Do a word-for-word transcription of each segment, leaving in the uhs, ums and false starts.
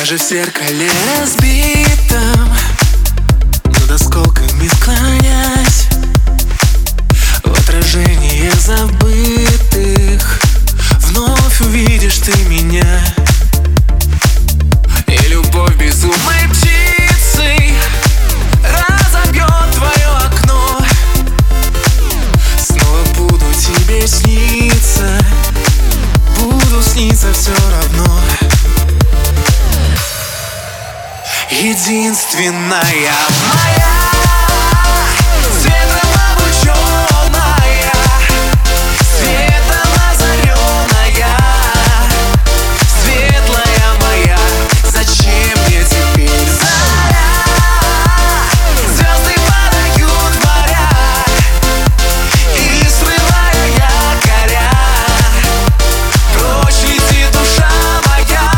Даже в зеркале разбитом, над осколками склонясь, в отражение забытых вновь увидишь ты меня. И любовь безумной птицей разобьет твое окно. Снова буду тебе сниться, буду сниться все равно. Единственная моя, светло облученная, светом озаренная, светлая моя, зачем мне теперь заря? Звезды падают в моря, и срывая якоря, прочь летит душа моя.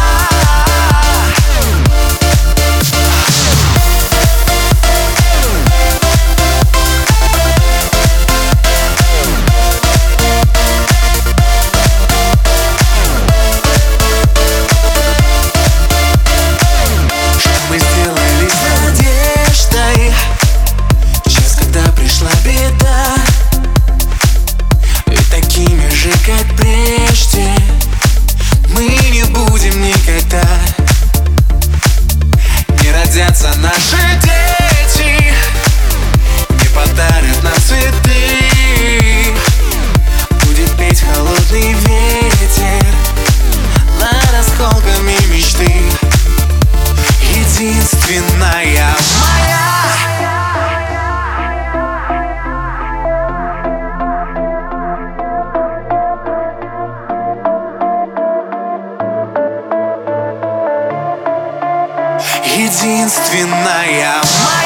Как прежде мы не будем никогда. Не родятся наши дети, не подарят нам цветы. Будет петь холодный ветер над осколками мечты. Единственная моя. Единственная моя.